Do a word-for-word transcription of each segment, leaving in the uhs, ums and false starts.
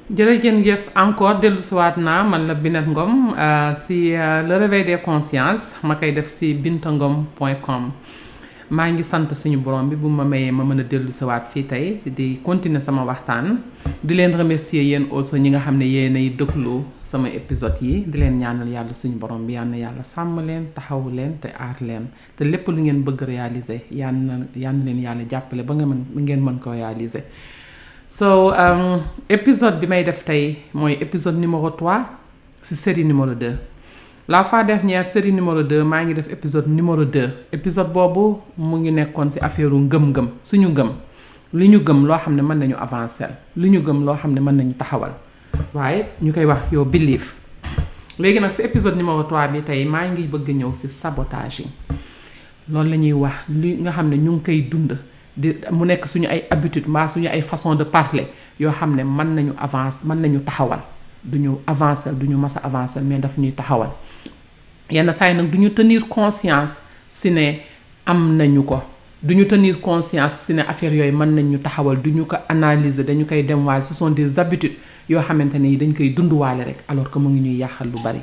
jërëjëf encore dellu siwaat naa man la Binet Ngom si le réveil des consciences ma koy def si bintangom point com maa ngi sant suñu borom bi bu ma mayee ma mën a dellu siwaat fii tey di continuer sama waxtaan di leen remercier yéen aussi ñi nga xam ne yéenay déglu sama épisode yi di leen ñaanal yàlla suñu borom bi yal na yàlla sàmm leen taxawu leen te aar leen te lépp lu ngeen bëgg réaliser yal na yal na leen yàlla jàppale ba nga mën ngeen mën ko réaliser. So um, épisode bi may def tey mooy épisode numéro trois ci série numéro deux. La fois dernière série numéro deux maa ngi def épisode numéro deux. Épisode boobu mu ngi nekkoon ci affaire ngëm-ngëm suñu ngëm li ñu gëm loo xam ne mën nañu avancer li ñu gëm loo xam ne mën nañu taxawal waaye ñu koy wax yow believe. Léegi nag ci épisode numéro trois bi tey maa ngi bëgg ñëw ci sabotage yi loolu la ñuy wax li nga xam ne ñu ngi koy dund. di mu nekk suñu ay habitude mbaa suñu ay façon de parler yoo xam ne mën nañu avancer mën nañu taxawal duñu avancer duñu mas a avancer mais daf ñuy taxawal yenn saa yi nag duñu tenir conscience si ne am nañu ko duñu tenir conscience si ne affaire yooyu mën nañu taxawal duñu ko analyser dañu koy dem waale ce sont des habitudes yoo xamante ne yi dañ koy dunduwaale rek alors que mu ngi ñuy yàqal lu bari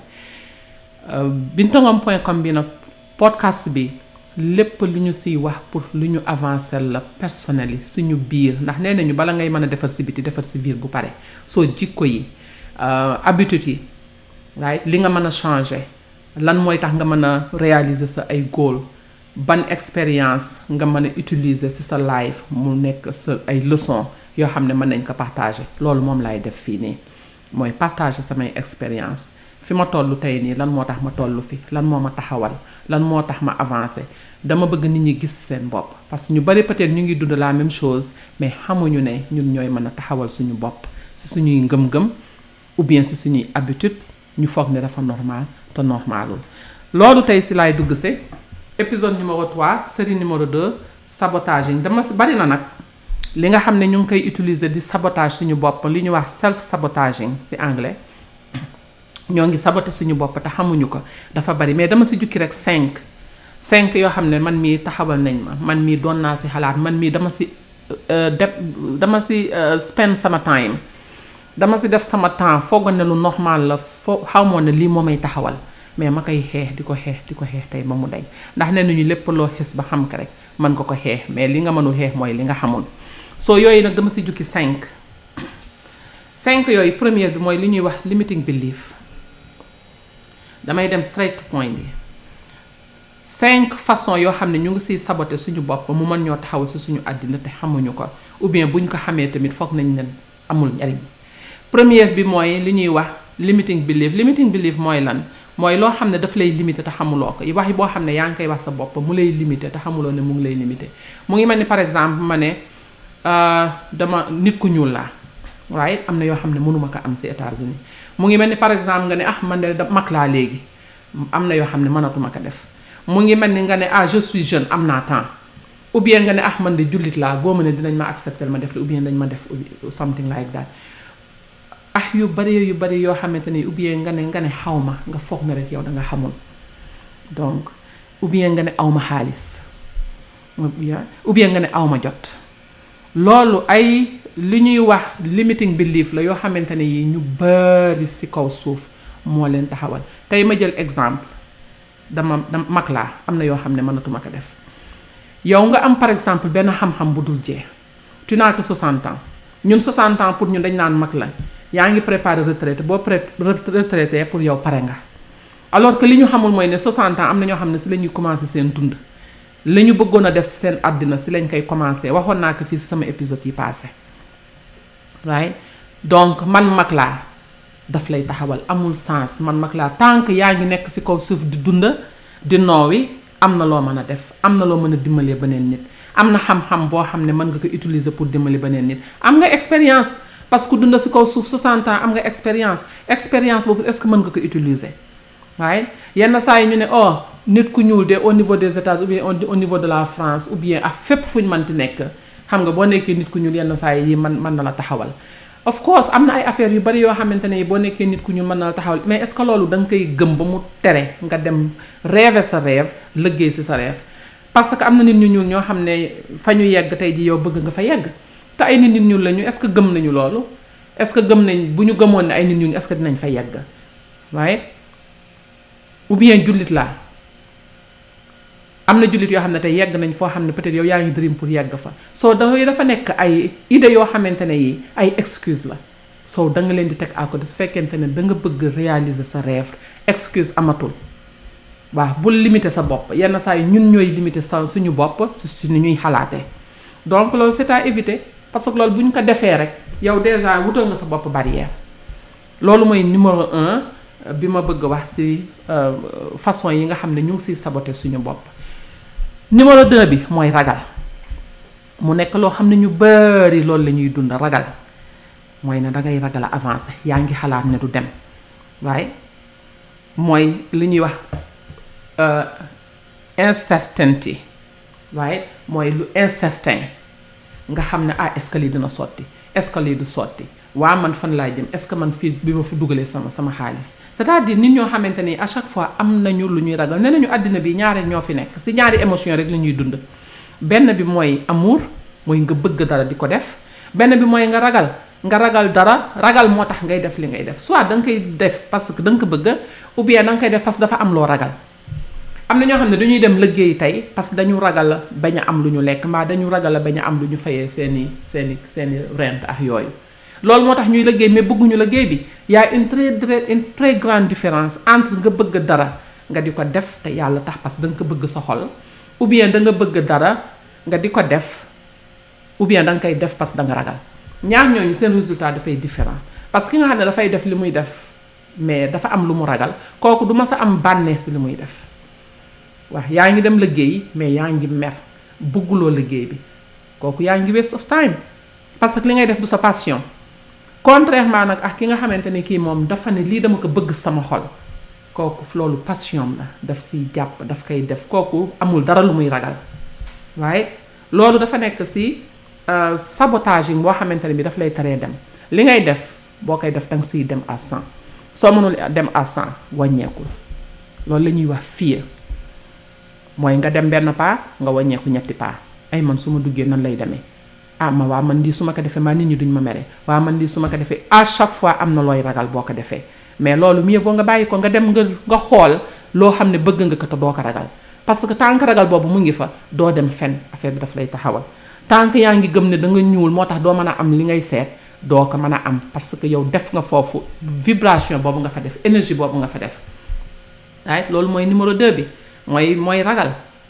bintangom point com bi nag podcast bi lépp lu ñu siy wax pour lu ñu avancer la personnel yi suñu biir ndax nee nañu bala ngay mën a defar si biti defar si biir bu pare soo jikko yi habitude yi right li nga mën a changer lan mooy tax nga mën a réaliser sa ay goal ban expérience nga mën a utiliser si sa life mu nekk sa ay leçon yoo xam ne mën nañ ko partager loolu moom laay def fii nii mooy partager samay expérience fi ma toll tey nii lan moo tax ma toll fi lan moo ma taxawal lan moo tax ma avancé dama bëgg nit ñi gis seen bopp parce que ñu bari peut-être ñu ngi dund la même chose mais xamuñu ne ñun ñooy mën a taxawal suñu bopp ci suñuy ngëm-ngëm ou bien ci suñuy habitude ñu foog ne dafa normal te normalul loolu tey ci laay dugg ci épisode numéro trois série numéro deux sabotage yi dama bari na nag li nga xam ne ñu ngi koy utiliser di sabotage suñu bopp li ñu wax self sabotaging ci anglais ñoo ngi saboté suñu bopp te xamuñu ko dafa bari mais dama ci jukki rek cinq cinq yoo xam ne man mii taxawal nañ ma man mii doon naa ci xalaat man mii dama ci def dama ci spend sama time dama ci def sama temps foogoon ne lu normal la foo xamoon ne lii moo may taxawal mais ma koy xeex di ko xeex di ko xeex tey ba mu dañ ndax nee nañu lépp loo xis ba xam ko rek mën nga ko xeex mais li nga mënul xeex mooy li nga xamul soo yooyu nag dama ci jukki cinq cinq yooyu première bi mooy li ñuy wax limiting belief damay dem straight to point bi cinq façons yoo xam ne ñu ngi siy saboter suñu bopp mu mën ñoo taxaw si suñu àddina te xamuñu ko ou bien buñ ko xamee tamit foog nañ ne amul njariñ première bi mooy li ñuy wax limiting belief limiting belief mooy lan mooy loo xam ne daf lay limiter te xamuloo ko wax yi boo xam ne yaa ngi koy wax sa bopp mu lay limiter te xamuloo ne mu ngi lay limiter mu ngi mel ni par exemple ma ne dama nit ku ñuul laa waaye am na yoo xam ne mënuma ko am si États-Unis mu ngi mel ni par exemple nga ne ah man de mag laa léegi am na yoo xam ne mënatuma ko def mu ngi mel ni nga ne ah je suis jeune am naa temps ou bien nga ne ah man de jullit laa góoma ne dinañ ma accepter ma def la ou bien dañ ma def something like that ah yu bari yu bari yoo xamante ne ou bien nga ne nga ne xaw ma nga foog ne rek yow da nga xamul donc ou bien nga ne aw ma xaalis ou bien nga ne aw ma jot loolu ay li ñuy wax limiting belief la yoo xamante ne yi ñu bari ci kaw suuf moo leen taxawal tey ma jël exemple dama dama mag laa am na yoo xam ne mënatuma ko def yow nga am par exemple benn xam-xam bu dul jeex tu n'as que soixante ans ñun soixante ans pour ñun dañ naan mag la yaa ngi préparer retraite boo pré retraité pour yow pare nga alors que li ñu xamul mooy ne soixante ans am na ñoo xam ne ci la ñuy commencer seen dund la ñu bëggoon a def ci seen àddina ci lañ koy commencer waxoon naa ko fii ci sama épisode yi passé right donc man mag laa daf lay taxawal amul sens man mag laa tant que yaa ngi nekk ci kaw suuf di dund di noowi am na loo mën a def am na loo mën a dimbalee beneen nit am na xam-xam boo xam ne mën nga ko utiliser pour dimbali beneen nit am nga expérience parce que dund ci kaw suuf soixante ans am nga expérience expérience boobu est-ce que mën nga ko utiliser right yenn saa yi ñu ne oh nit ku ñuul de au niveau des États ou bien au niveau de la France ou bien ak fépp fu ñu mënti nekk xam nga boo nekkee nit ku ñuul yenn saa yi man mën na la taxawal of course am na ay affaires yu bari yoo xamante ne boo nekkee nit ku ñuul mën na la taxawal mais est-ce que loolu da nga koy gëm ba mu tere nga dem rêver sa rêve liggéey ci sa rêve parce que am na nit ñu ñuul ñoo xam ne fa ñu yegg tey ji yow bëgg nga fa yegg te ay nit nit ñuul lañu est-ce que gëm nañu loolu est-ce que gëm nañ bu ñu gëmoon ne ay nit ñu est-ce que dinañ fa yegg waaye ou bien jullit laa am na jullit yoo xam ne tey yegg nañ foo xam ne peut-être yow yaa ngi dream pour yegg fa soo da dafa nekk ay idées yoo xamante ne yi ay excuse la soo da nga leen di teg à côté su fekkente ne da nga bëgg réaliser sa rêve excuse amatul waaw bul limiter sa bopp yenn saa yi ñun ñooy limiter sa suñu bopp su suñu ñuy xalaatee donc loolu c'est à éviter parce que loolu bu ñu ko defee rek yow déjà wutal nga sa bopp barrière loolu mooy numéro un bi ma bëgg wax ci façon yi nga xam ne ñu ngi ciy saboter suñu bopp. numéro deux bi mooy ragal mu nekk loo xam ne ñu bari loolu la ñuy dund ragal mooy ne dangay ragal a avancer yaa ngi xalaat ne du dem waaye mooy li ñuy wax incertainty waaye mooy lu incertain nga xam ne ah est-ce que lii dina sotti est-ce que lii du sotti waa man fan laa jëm est-ce que man fii bi ma fi dugalee sama sama xaalis c'est-à-dire nit ñoo xamante ni à chaque fois am nañu lu ñuy ragal nee nañu àddina bi ñaari ñoo fi nekk ci ñaari émotion rek la ñuy dund benn bi mooy amour mooy nga bëgg dara di ko def benn bi mooy nga ragal nga ragal dara ragal moo tax ngay def li ngay def soit da nga koy def parce que da nga ko bëgg ou bien da nga koy def parce que dafa am loo ragal am na ñoo xam ne dañuy dem liggéey tey parce que dañu ragal bañ a am lu ñu lekk mbaa dañu ragal bañ a am lu ñu fayee seeni seeni seeni rent ak yooyu loolu moo tax ñuy liggéey mais bëgguñu liggéey bi y a une très très une très grande différence entre nga bëgg dara nga di ko def te yàlla tax parce que da nga ko bëgg sa xol ou bien da nga bëgg dara nga di ko def ou bien da nga koy def parce que da nga ragal ñaar ñooñu seen résultat dafay différent parce que ki nga xam ne dafay def li muy def mais dafa am lu mu ragal kooku du ma sa am bànneex si li muy def waaw yaa ngi dem liggéey mais yaa ngi mer bëgguloo liggéey bi kooku yaa ngi waste of time parce que li ngay def du sa passion contrairement nag ak ki nga xamante ne kii moom dafa ne lii dama ko bëgg sama xol kooku loolu passion la daf siy jàpp daf koy def kooku amul dara lu muy ragal waaye loolu dafa nekk si sabotage yi boo xamante ne bi daf lay taree dem li ngay def boo koy def danga siy dem à cent soo mënul dem à cent wàññeekul loolu la ñuy wax fear mooy nga dem benn pas nga wàññeeku ñetti pas ay man su ma duggee nan lay demee ah ma waa man lii su ma ko defee maa nit ñi duñ ma mere waa man lii su ma ko defee à chaque fois am na looy ragal boo ko defee mais loolu mieux vaut nga bàyyi ko nga dem nga nga xool loo xam ne bëgg nga ko te doo ko ragal parce que tant que ragal boobu mu ngi fa doo dem fen affaire bi daf lay taxawal tant que yaa ngi gëm ne da nga ñuul moo tax doo mën a am li ngay seet doo ko mën a am parce que yow def nga foofu vibration boobu nga fa def énergie boobu nga fa def waaye loolu mooy numéro deux bi mooy mooy ragal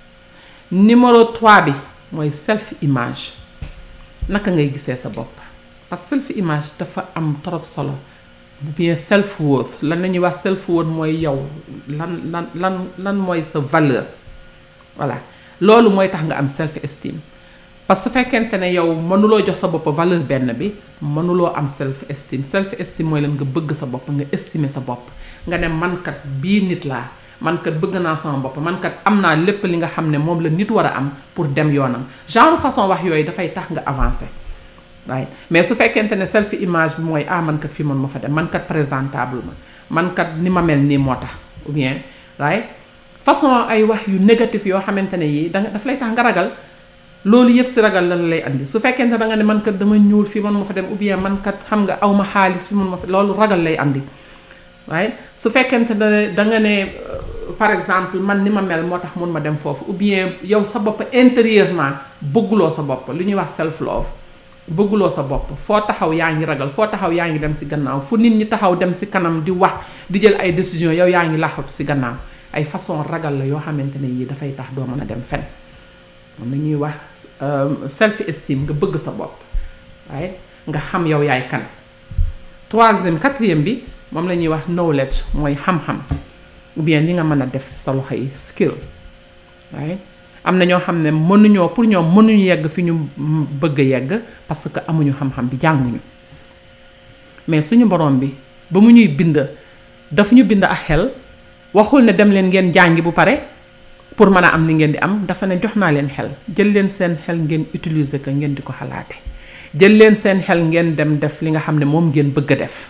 numéro trois bi mooy self image naka ngay gisee sa bopp parce que self image dafa am trop solo bu bien self worth lan la ñuy wax self worth mooy yow lan lan lan lan mooy sa valeur voilà loolu mooy tax nga am self esteem parce que su fekkente ne yow mënuloo jox sa bopp valeur benn bi mënuloo am self esteem self esteem mooy lan nga bëgg sa bopp nga estimer sa bopp nga ne mankat bii nit laa man kat bëgg naa sama bopp man kat am naa lépp li nga xam ne moom la nit war a am pour dem yoonam genre façon wax yooyu dafay tax nga avancer waaye mais su fekkente ne self image bi mooy ah man kat fii man ma fa dem man kat présentable ma man kat ni ma mel nii moo tax ou bien waaye façon ay wax yu négatif yoo xamante ne yii danga daf lay tax nga ragal loolu yëpp si ragal lan lay andi su fekkente da nga ne man kat dama ñuul fii man ma fa dem ou bien man kat xam nga aw ma xaalis fii man ma fa loolu ragal lay andi waaye su fekkente ne da nga ne par exemple man ni ma mel moo tax mun ma dem foofu ou bien yow sa bopp intérieurement bëgguloo sa bopp li ñuy wax self love bëgguloo sa bopp foo taxaw yaa ngi ragal foo taxaw yaa ngi dem si gannaaw fu nit ñi taxaw dem si kanam di wax di jël ay décision yow yaa ngi laxatu si gannaaw ay façon ragal la yoo xamante ne yii dafay tax doo mën a dem fen moom la ñuy wax self esteem nga bëgg sa bopp waaye nga xam yow yaay kan troisième quatrième bi moom la ñuy wax knowledge mooy xam-xam ou bien li nga mën a def ci sa loxo yi skill waaye am na ñoo xam ne mënuñoo pour ñoom mënuñu yegg fi ñu bëgg a yegg parce que amuñu xam-xam bi jànguñu mais suñu borom bi ba mu ñuy bind dafa ñu bind ak xel waxul ne dem leen ngeen jàngi bu pare pour mën a am li ngeen di am dafa ne jox naa leen xel jël leen seen xel ngeen utiliser ko ngeen di ko xalaate jël leen seen xel ngeen dem def li nga xam ne moom ngeen bëgg a def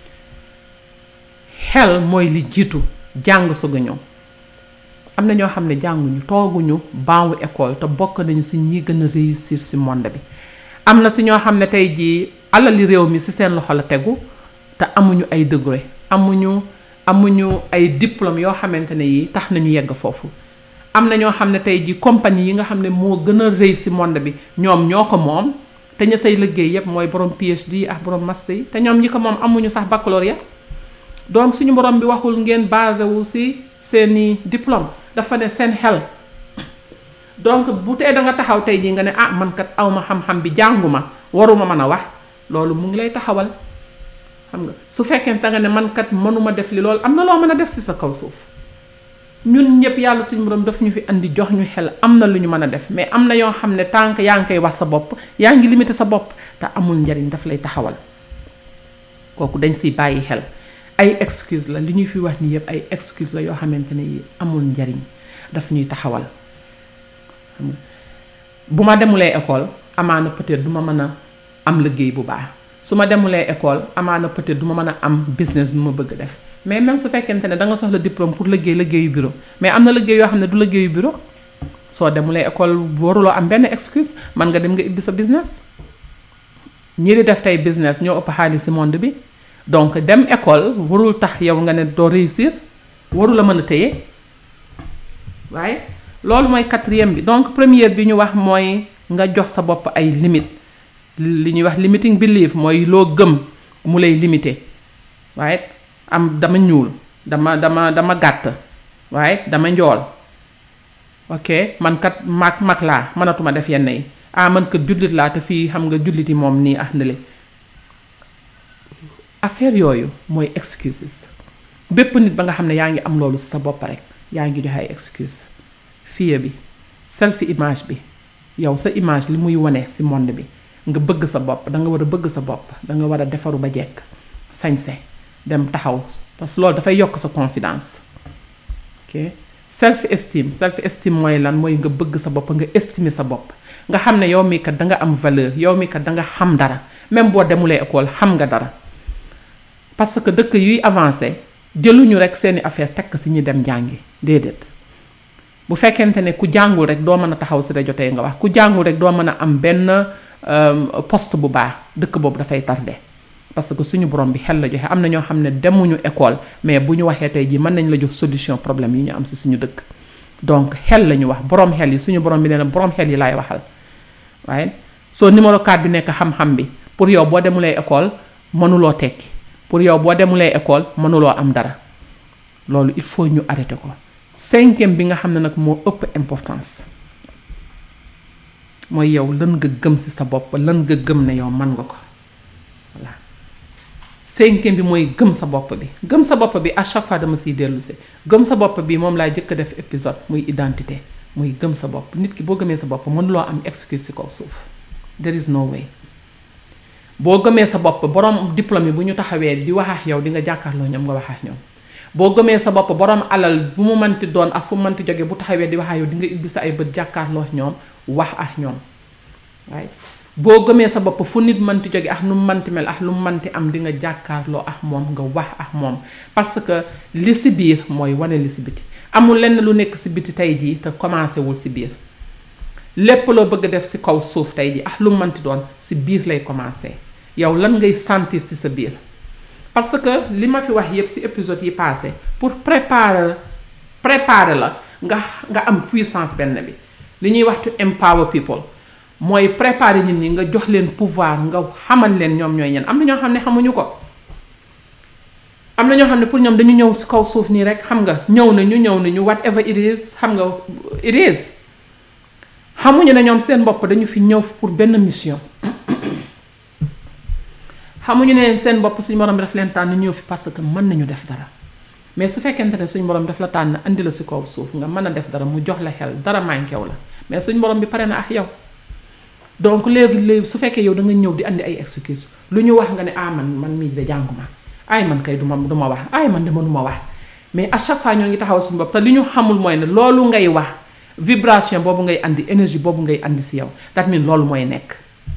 xel mooy li jiitu jàng soog a ñëw am na ñoo xam ne jànguñu tooguñu baawu école te bokk nañu si ñi gën a réussir si monde bi am na si ñoo xam ne tey jii alali réew mi ci seen loxo la tegu te amuñu ay degré amuñu amuñu ay diplôme yoo xamante ne yi tax nañu yegg foofu. am na ñoo xam ne tey ji compagnie yi nga xam ne moo gën a rëy ci monde bi ñoom ñoo ko moom te ña say liggéey yépp mooy borom P H D ak borom master yi te ñoom ñi ko moom amuñu sax baccalauréat donc suñu borom bi waxul ngeen basé wu ci seeni diplôme dafa ne seen xel. donc bu tee da nga taxaw tey jii nga ne ah man kat awma xam-xam bi jànguma waruma mën a wax loolu mu ngi lay taxawal xam nga su fekkente nga ne man kat mënuma def li loolu am na loo mën a def ci sa kaw suuf ñun ñëpp yàlla suñu borom daf ñu fi andi jox ñu xel am na lu ñu mën a def mais am na yoo xam ne tant que yaa ngi koy wax sa bopp yaa ngi limité sa bopp te amul njariñ daf lay taxawal kooku dañ siy bàyyi xel ay excuse la li ñuy fi wax ni yëpp ay excuse la yoo xamante ne yi amul njariñ daf ñuy taxawal bu ma demulee école amaana peut-être du ma mën a am liggéey bu baax su ma demulee école amaana peut-être du ma mën a am business bi ma bëgg def mais même su fekkente ne da nga soxla diplôme pour liggéey liggéeyu bureau mais am na liggéey yoo xam ne du liggéeyu bureau soo demulee école waruloo am benn excuse man nga dem nga ibbi sa business ñi di def tey business ñoo ëpp xaalis ci monde bi donc dem école warul tax yow nga ne doo réussir warul a mën a téye waaye loolu mooy quatrième bi donc première bi ñu wax mooy nga jox sa bopp ay limite li ñuy wax limiting belief mooy loo gëm mu lay limité waaye am dama ñuul dama dama dama gàtt waaye dama njool ok man kat mag mag laa mënatuma def yenn yi ah man kat jullit laa te fii xam nga jullit yi moom nii ah ndale affaire yooyu mooy excuses bépp nit ba nga xam ne yaa ngi am loolu ci sa bopp rek yaa ngi joxe ay excuse fiye bi self image bi yow sa image li muy wane ci monde bi nga bëgg sa bopp da nga war a bëgg sa bopp da nga war a defaru ba jekk sañse dem taxaw parce que loolu dafay yokk sa confiance ok self esteem self esteem mooy lan mooy nga bëgg sa bopp nga estimer sa bopp nga xam ne yow mii kat da nga am valeur yow mii kat da nga xam dara même boo demulee école xam nga dara parce que dëkk yuy avancé jëluñu rek seeni affaire tekk ci ñi dem jàngi déedéet bu fekkente ne ku jàngul rek doo mën a taxaw ci rajo tey nga wax ku jàngul rek doo mën a am benn poste bu baax dëkk boobu dafay tardé parce que suñu borom bi xel la joxe am na ñoo xam ne demuñu école mais bu ñu waxee tey jii mën nañ la jox solution problème yi ñu am ci suñu dëkk donc xel la ñu wax borom xel yi suñu borom bi nee na borom xel yi laay waxal waaye soo numéro quatre bi nekk xam-xam bi pour yow boo demulee école mënuloo tekki pour yow boo demulee école mënuloo am dara loolu il faut ñu arrêté ko cinquième bi nga xam ne nag moo ëpp importance mooy yow lan nga gëm ci sa bopp lan nga gëm ne yow mën nga ko voilà cinquième bi mooy gëm sa bopp bi gëm sa bopp bi à chaque fois dama siy dellu si gëm sa bopp bi moom laa jëkk a def épisode muy identité muy gëm sa bopp nit ki boo gëmee sa bopp mënuloo am excuse ci kaw suuf there is no way boo gëmee sa bopp borom diplôme yi bu ñu taxawee di wax ak yow di nga jàkkaarloo ñoom nga wax ak ñoom boo gëmee sa bopp borom alal bu mu mënti doon ak fu mu mënti jóge bu taxawee di wax ak yow di nga ibbi sa ay bët jàkkaarloo ñoom wax ak ñoom waaye boo gëmee sa bopp fu nit mënti jóge ak nu mu mënti mel ak lu mu mënti am di nga jàkkaarloo ak moom nga wax ak moom parce que li ci biir mooy wane li ci biti amul lenn lu nekk ci biti tey jii te commencé wul ci biir lépp loo bëgg def ci kaw suuf tey jii ak lu mu mënti doon ci biir lay commencé yow lan ngay sentir ci sa biir parce que li ma fi wax yépp ci épisode yi passé pour préparer préparer la nga nga am puissance benn bi li ñuy wax to empower people mooy préparer nit ñi nga jox leen pouvoir nga xamal leen ñoom ñooy ñan am na ñoo xam ne xamuñu ko am na ñoo xam ne pour ñoom dañu ñëw ci kaw suuf nii rek xam nga ñëw nañu ñëw nañu whatever it is xam nga it is xamuñu ne ñoom seen bopp dañu fi ñëw pour benn mission xamuñu ne seen bopp suñu borom bi daf leen tànn ñëw fi parce que mën nañu def dara mais su fekkente ne suñu borom daf la tànn andi la ci kaw suuf nga mën a def dara mu jox la xel dara manquéw la mais suñu borom bi pare na ak yow donc léegi léegi su fekkee yow da nga ñëw di andi ay excuse lu ñu wax nga ne ah man man mii de jànguma ay man kay duma duma wax ay man de mënuma wax mais à chaque fois ñoo ngi taxaw suñu bopp te li ñu xamul mooy ne loolu ngay wax vibration boobu ngay andi énergie boobu ngay andi ci yow that mean loolu mooy nekk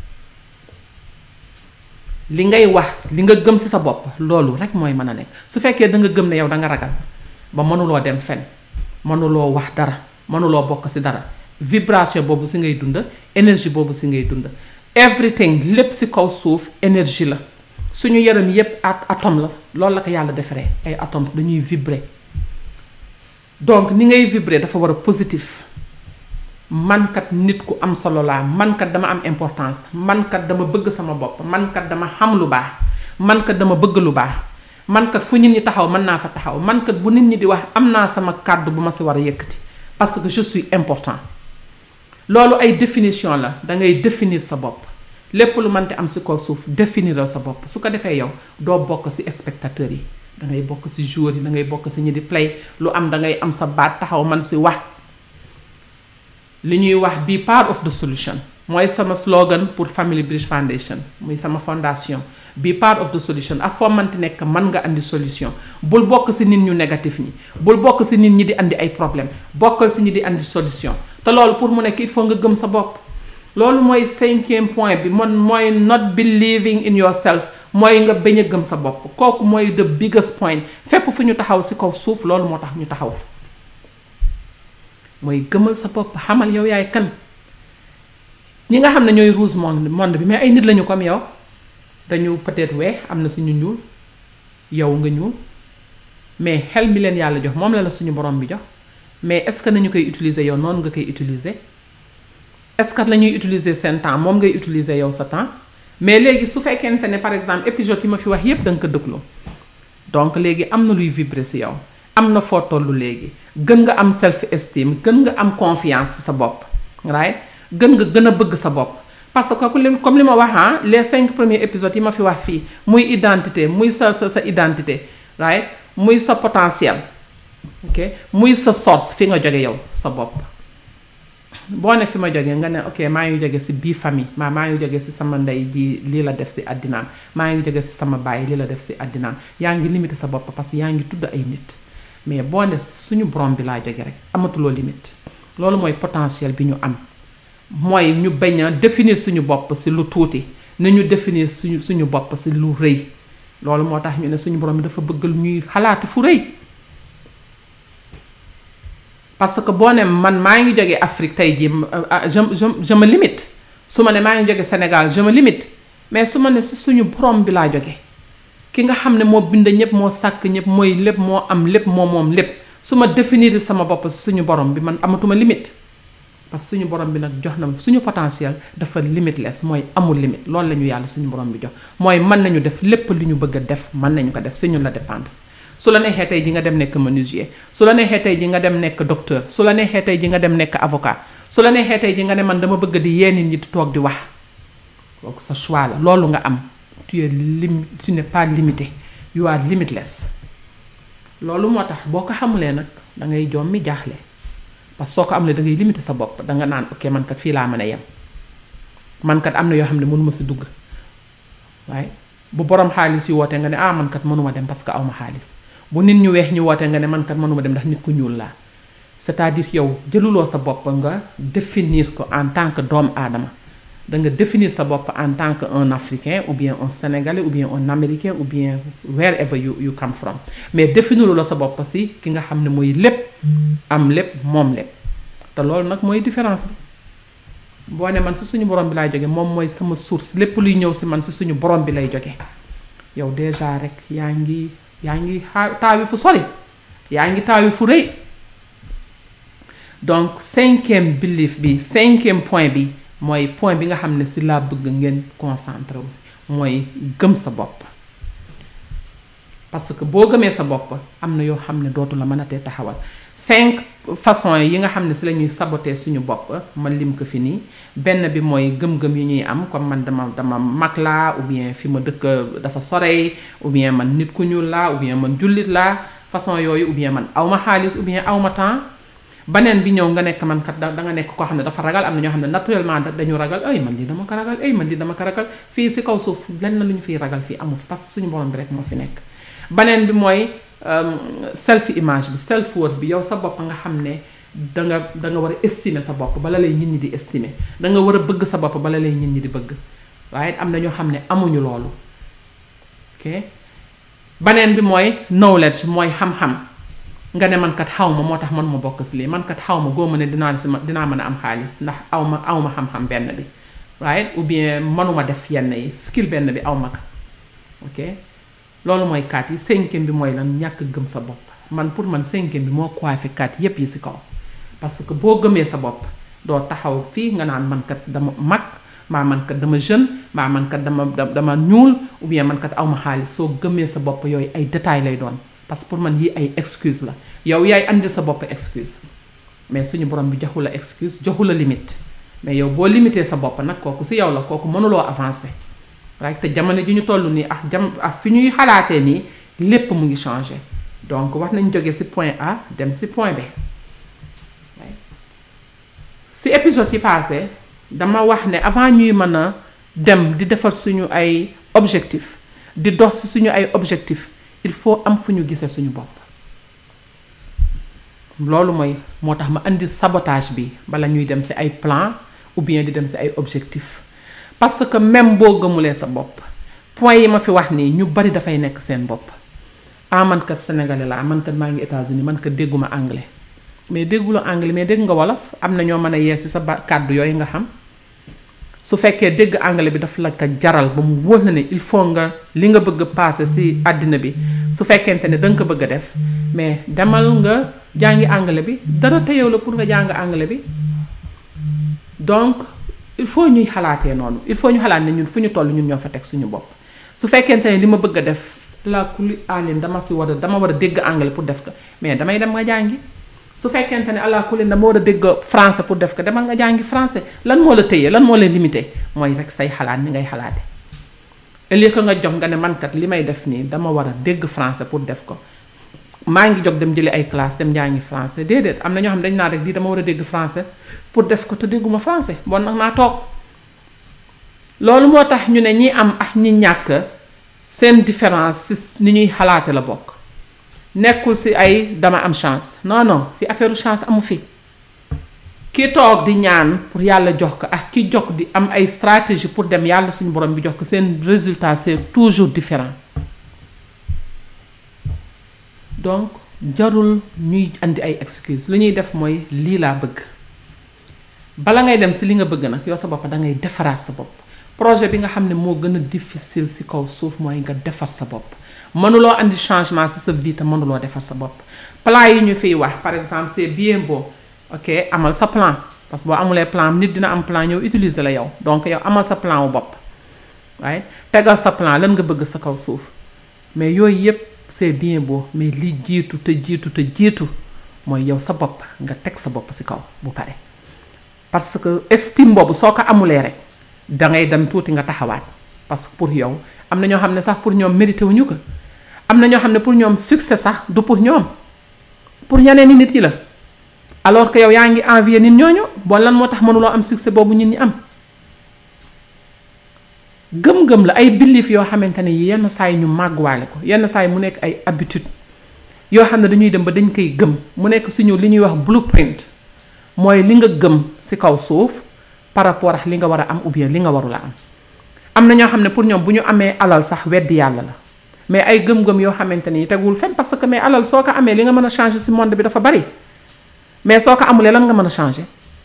li ngay wax li nga gëm ci sa bopp loolu rek mooy mën a nekk su fekkee da nga gëm ne yow da nga ragal ba mënuloo dem fen mënuloo wax dara mënuloo bokk ci dara vibration boobu ci ngay dund énergie boobu ci ngay dund everything lépp ci kaw suuf énergie la suñu yaram yépp at atome la loolu la ko yàlla defaree ay atomes dañuy vibrer donc ni ngay vibrer dafa war a positif man kat nit ku am solo laa man kat dama am importance man kat dama bëgg sama bopp man kat dama xam lu baax man kat dama bëgg lu baax man kat fu nit ñi taxaw mën naa fa taxaw man kat bu nit ñi di wax am naa sama kàddu bu ma ci war a yëkkati parce que je suis important loolu ay définition la da ngay définir sa bopp lépp lu mënti am ci kaw suuf définiral sa bopp su ko defee yow doo bokk ci spectateurs yi da ngay bokk ci joueurs yi da ngay bokk ci ñi di play lu am da ngay am sa baat taxaw man ci wax li ñuy wax be part of the solution mooy sama slogan pour Family Bridge Foundation muy sama fondation be part of the solution ak foo mënti nekk mën nga andi solution bul bokk ci nit ñu négatif ñi bul bokk ci nit ñi di andi ay problème bokkal ci ñi di andi solution te loolu pour mu nekk il faut nga gëm sa bopp loolu mooy cinquième point bi mon mooy not believing in yourself mooy nga bañ a gëm sa bopp kooku mooy the biggest point fépp fu ñu taxaw ci kaw suuf loolu moo tax ñu taxaw fa mooy gëmal sa bopp xamal yow yaay kan ñi nga xam ne ñooy rouge monde monde bi mais ay nit lañu comme yow dañu peut-être weex am na suñu ñuul yow nga ñuul mais xel mi leen yàlla jox moom la la suñu borom bi jox mais est-ce que nañu koy utiliser yow noonu nga koy utiliser est-ce que la ñuy utiliser seen temps moom ngay utiliser yow sa temps mais léegi su fekkente ne par exemple épisode yi ma fi wax yépp da nga ko déglu donc léegi am na luy vibrer ci yow am na foo tollu léegi gën nga am self esteem gën nga am confiance sa bopp right gën nga gën a bëgg sa bopp parce que comme li ma wax ah les cinq premiers épisodes yi ma fi wax fii muy identité muy sa sa sa identité right muy sa potentiel ok muy sa source fi nga jóge yow sa bopp boo ne fi ma jógee nga ne ok maa ngi jóge ci bii famille maa maa ngi jóge ci sama ndey ji lii la def ci àddinaam maa ngi jóge ci sama baay lii la def ci àddinaam yaa ngi limité sa bopp parce que yaa ngi tudd ay nit mais boo ne suñu borom bi laa jóge rek amatuloo limite loolu mooy potentiel bi ñu am mooy ñu bañ a définir suñu bopp ci lu tuuti na ñu définir suñu suñu bopp ci lu rëy loolu moo tax ñu ne suñu borom bi dafa bëgg ñuy xalaati fu rëy parce que boo ne man maa ngi jóge Afrique tey jii je je je me limite su ma ne maa ngi jóge Sénégal je me limite mais su ma ne ci suñu borom bi laa jóge ki nga xam ne moo bind ñëpp moo sàkk ñëpp mooy lépp moo am lépp moo moom lépp su ma définir sama bopp ci suñu borom bi man amatuma limite parce que suñu borom bi nag jox na suñu potentiel dafa limitless mooy amul limite loolu la ñu yàlla suñu borom bi jox mooy mën nañu def lépp li ñu bëgg a def mën nañu ko def si ñun la dépendre su la neexee tey ji nga dem nekk menuisier su la neexee tey ji nga dem nekk docteur su la neexee tey ji nga dem nekk avocat su la neexee tey ji nga ne man dama bëgg di yee nit ñi di toog di wax kooku sa choix la loolu nga am tu es lim tu n'es pas limité you are limitless loolu moo tax boo ko xamulee nag da ngay joom mi jaaxle parce que soo ko am ne da ngay limité sa bopp danga naan ok man kat fii laa mën a yem man kat am na yoo xam ne mënuma si dugg waaye bu borom xaalis yu wootee nga ne ah man kat mënuma dem parce que awma xaalis bu nit ñu weex ñu wootee nga ne man kat mënuma dem ndax nit ku ñuul laa c'est-à-dire yow jëluloo sa bopp nga définir ko en tant que doomu aadama da nga définir sa bopp en tant que un africain ou bien un sénégalais ou bien un américain ou bien wherever you you come from mais définiruloo sa bopp si ki nga xam ne mooy lépp am lépp moom lépp te loolu nag mooy différence bi boo ne man si suñu borom bi laay jóge moom mooy sama source lépp luy ñëw si man si suñu borom bi lay jóge yow déjà rek yaa ngi yaa ngi taawi fu sori yaa ngi taawi fu rëy donc cinquième belief bi cinquième point bi mooy point bi nga xam ne si laa bëgg ngeen concentré aussi mooy gëm sa bopp parce que boo gëmee sa bopp am na yoo xam ne dootu la mën a tee taxawal cinq façons yi nga xam ne si la ñuy saboter suñu bopp ma lim ko fi nii benn bi mooy gëm-gëm yi ñuy am comme man dama dama mag laa ou bien fi ma dëkk dafa sorey ou bien man nit ku ñuul laa ou bien man jullit laa façon yooyu ou bien man awma xaalis ou bien awma temps baneen bi ñëw nga nekk man kat da nga nekk koo xam ne dafa ragal am na ñoo xam ne naturellement dañu ragal ay man lii dama ko ragal ay man lii dama ko ragal fii si kaw suuf lenn lu ñu fiy ragal fii amu fi parce que suñu borom bi rek moo fi nekk baneen bi mooy self image bi self worth bi yow sa bopp nga xam ne danga danga war a estimer sa bopp bala lay nit ñi di estimer danga war a bëgg sa bopp bala lay nit ñi di bëgg waaye am na ñoo xam ne amuñu loolu ok baneen bi mooy knowledge mooy xam-xam nga ne man kat xaw ma moo tax man ma bokk si lii man kat xaw ma góoma ne dinaa si ma dinaa mën a am xaalis ndax aw ma aw ma xam-xam benn bi right ou bien mënuma def yenn yi skill benn bi aw ma ko ok loolu mooy quatre yi cinquième bi mooy lan ñàkk gëm sa bopp man pour man cinquième bi moo coiffé quatre yépp yi ci kaw parce que boo gëmee sa bopp doo taxaw fii nga naan man kat dama mag maa man kat dama jeune maa man kat dama dama ñuul ou bien man kat aw ma xaalis soo gëmee sa bopp yooyu ay détails lay doon parce que pour man yi ay excuse la yow yaay andi sa bopp excuse mais suñu borom bi joxu la excuse joxu la limite mais yow boo limité sa bopp nag kooku ci yow la kooku mënuloo avancer right te jamono ji ñu toll nii ak jam ak fi ñuy xalaatee nii lépp mu ngi changer donc wax nañ jóge ci point A dem ci point B ci épisode yi passé dama wax ne avant ñuy mën a dem di defar suñu ay objectif di dox ci suñu ay objectif il faut am fu ñu gisee suñu bopp loolu mooy moo tax ma indi sabotage bi bala ñuy dem ci ay plan ou bien di dem ci ay objectif parce que même boo gëmulee sa bopp point yi ma fi wax nii ñu bari dafay nekk seen bopp ah man kat sénégalais laa man kat maa ngi États-Unis man kat dégguma anglais mais dégguloo anglais mais dégg nga wolof am na ñoo mën a yee ci sa ba kàddu yooyu nga xam su fekkee dégg anglais bi daf la ko jaral ba mu wóor na ne il faut nga li nga bëgg a passer ci àddina bi su fekkente ne danga ko bëgg a def mais demal nga jàngi anglais bi dara teyew la pour nga jàng anglais bi donc il faut ñuy xalaatee noonu il faut ñu xalaat ne ñun fu ñu toll ñun ñoo fa teg suñu bopp su fekkente ne li ma bëgg a def la kuli alin dama si war a dama war a dégg anglais pour def ko mais damay dem nga jàngi su fekkente ne ala kulli dama war a dégg français pour def ko demal nga jàngi français lan moo la tëyee lan moo la limité mooy rek say xalaat ni ngay xalaate au lieu que nga jox nga ne man kat li may def nii dama war a dégg français pour def ko maa ngi jóg dem jëli ay classe dem jàngi français déedéet am na ñoo xam dañ naa rek di dama war a dégg français pour def ko te dégguma français bon nag naa toog loolu moo tax ñu ne ñi am ak ñi ñàkk seen différence ci ni ñuy xalaate la bokk nekkul ci ay dama am chance non non fi affaire chance amu fi ki toog di ñaan pour yàlla jox ko ak ki jox di am ay stratégie pour dem yàlla suñu borom bi jox ko seen résultat c'est toujours différent donc jarul ñuy andi ay excuse lu ñuy def mooy lii laa bëgg bala ngay dem ci li nga bëgg nag yow sa bopp da ngay defaraat sa bopp projet bi nga xam ne moo gën a difficile ci kaw suuf mooy nga defar sa bopp mënuloo andi changement ci sa vie te mënuloo defar sa bopp plan yi ñu fiy wax par exemple c'est bien beau ok amal sa plan parce que boo amulee plan nit dina am plan ñëw utiliser la yow donc yow amal sa plan wu bopp waaye tegal sa plan lan nga bëgg sa kaw suuf mais yooyu yépp c'est bien beau mais li jiitu te jiitu te jiitu mooy yow sa bopp nga teg sa bopp ci kaw bu pare parce que estime boobu soo ko amulee rek dangay dem tuuti nga taxawaat parce que pour yow am na ñoo xam ne sax pour ñoom mérité wuñu ko am na ñoo xam ne pour ñoom succès sax du pour ñoom pour ñeneen nit yi la alors que yow yaa ngi envier nit ñooñu bon lan moo tax mënuloo am succès boobu nit ñi am gëm-gëm la ay belief yoo xamante ne yi yenn saa yi ñu màgguwaale ko yenn saa yi mu nekk ay habitude yoo xam ne dañuy dem ba dañ koy gëm mu nekk suñu li ñuy wax blueprint mooy li nga gëm ci kaw suuf par rapport ak li nga war a am ou bien li nga warula am am na ñoo xam ne pour ñoom bu ñu amee alal sax weddi yàlla la mais ay gëm-gëm yoo xamante ni tegul fenn parce que mais alal soo ko amee li nga mën a changer ci monde bi dafa bari mais soo ko amulee lan nga mën a changer